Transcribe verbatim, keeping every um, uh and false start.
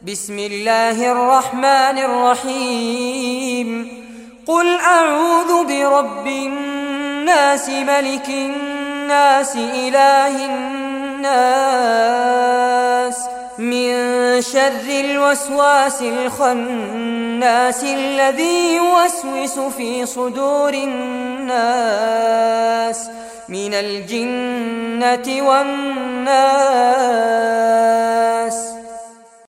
بسم الله الرحمن الرحيم قل أعوذ برب الناس ملك الناس إله الناس من شر الوسواس الخناس الذي يوسوس في صدور الناس من الجنة والناس.